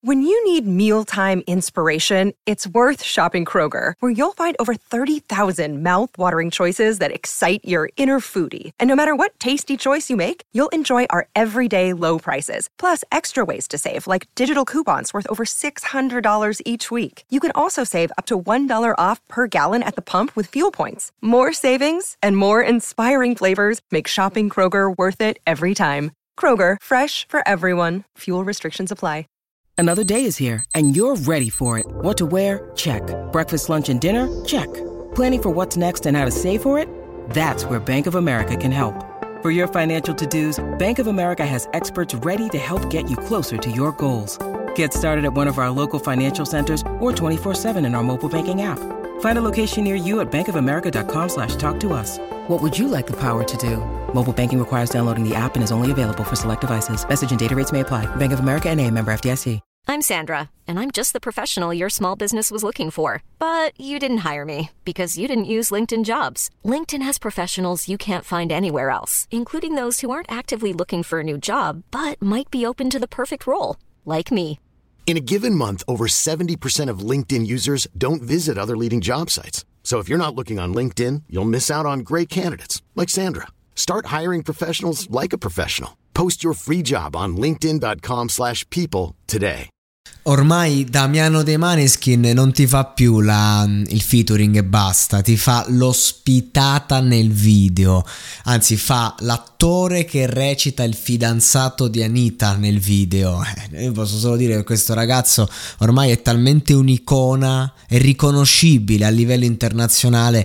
When you need mealtime inspiration, it's worth shopping Kroger, where you'll find over 30,000 mouth-watering choices that excite your inner foodie. And no matter what tasty choice you make, you'll enjoy our everyday low prices, plus extra ways to save, like digital coupons worth over $600 each week. You can also save up to $1 off per gallon at the pump with fuel points. More savings and more inspiring flavors make shopping Kroger worth it every time. Kroger, fresh for everyone. Fuel restrictions apply. Another day is here, and you're ready for it. What to wear? Check. Breakfast, lunch, and dinner? Check. Planning for what's next and how to save for it? That's where Bank of America can help. For your financial to-dos, Bank of America has experts ready to help get you closer to your goals. Get started at one of our local financial centers or 24/7 in our mobile banking app. Find a location near you at bankofamerica.com/talktous. What would you like the power to do? Mobile banking requires downloading the app and is only available for select devices. Message and data rates may apply. Bank of America N.A., member FDIC. I'm Sandra, and I'm just the professional your small business was looking for. But you didn't hire me because you didn't use LinkedIn Jobs. LinkedIn has professionals you can't find anywhere else, including those who aren't actively looking for a new job, but might be open to the perfect role, like me. In a given month, over 70% of LinkedIn users don't visit other leading job sites. So if you're not looking on LinkedIn, you'll miss out on great candidates like Sandra. Start hiring professionals like a professional. Post your free job on linkedin.com/people today. Ormai Damiano De Maneskin non ti fa più il featuring e basta, ti fa l'ospitata nel video, anzi fa l'attore che recita il fidanzato di Anita nel video. Io posso solo dire che questo ragazzo ormai è talmente un'icona, è riconoscibile a livello internazionale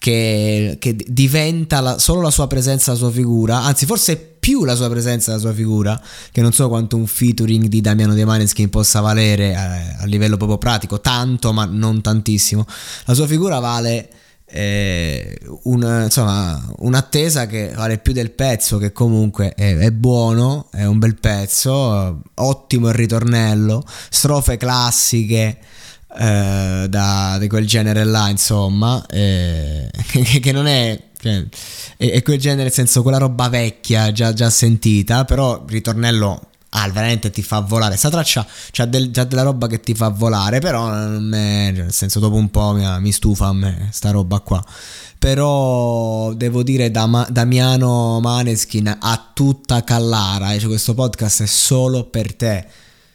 che diventa solo la sua presenza, la sua figura, anzi forse più la sua presenza e la sua figura, che non so quanto un featuring di Damiano De Maneskin possa valere a livello proprio pratico, tanto ma non tantissimo. La sua figura vale un'attesa che vale più del pezzo, che comunque è buono, è un bel pezzo, ottimo il ritornello, strofe classiche di quel genere là, insomma, che non è quel genere, nel senso, quella roba vecchia già sentita, però il ritornello veramente ti fa volare. Sta traccia c'ha della roba che ti fa volare, però nel senso, dopo un po' mi stufa a me sta roba qua. Però devo dire, Damiano Maneskin a tutta Callara, cioè questo podcast è solo per te,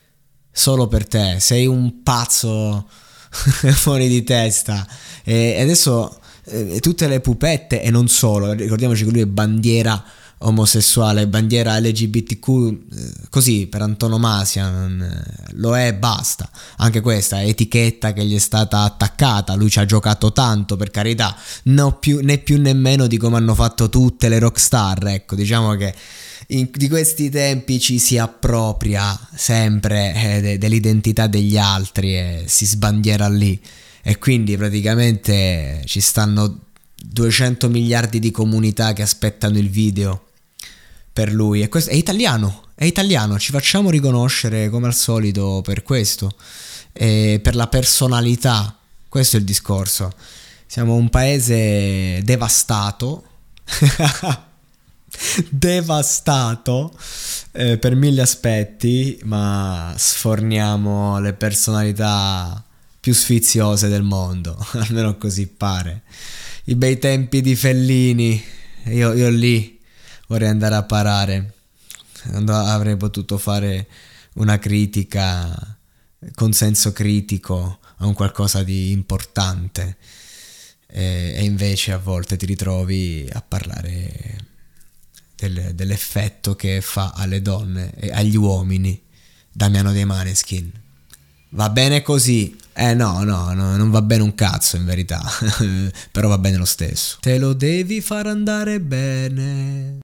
sei un pazzo fuori di testa. E adesso tutte le pupette, e non solo, ricordiamoci che lui è bandiera omosessuale, bandiera LGBTQ, così per antonomasia, lo è, basta. Anche questa etichetta che gli è stata attaccata, lui ci ha giocato tanto, per carità, né più né meno di come hanno fatto tutte le rockstar, ecco. Diciamo che di questi tempi ci si appropria sempre dell'identità degli altri e si sbandiera lì, e quindi praticamente ci stanno 200 miliardi di comunità che aspettano il video per lui. E questo è italiano, ci facciamo riconoscere come al solito per questo, e per la personalità. Questo è il discorso. Siamo un paese devastato per mille aspetti, ma sforniamo le personalità più sfiziose del mondo, almeno così pare. I bei tempi di Fellini, io lì vorrei andare a parare. Avrei potuto fare una critica con senso critico a un qualcosa di importante, e invece a volte ti ritrovi a parlare dell'effetto che fa alle donne e agli uomini Damiano De Maneskin. Va bene così? No, non va bene un cazzo in verità, però va bene lo stesso. Te lo devi far andare bene.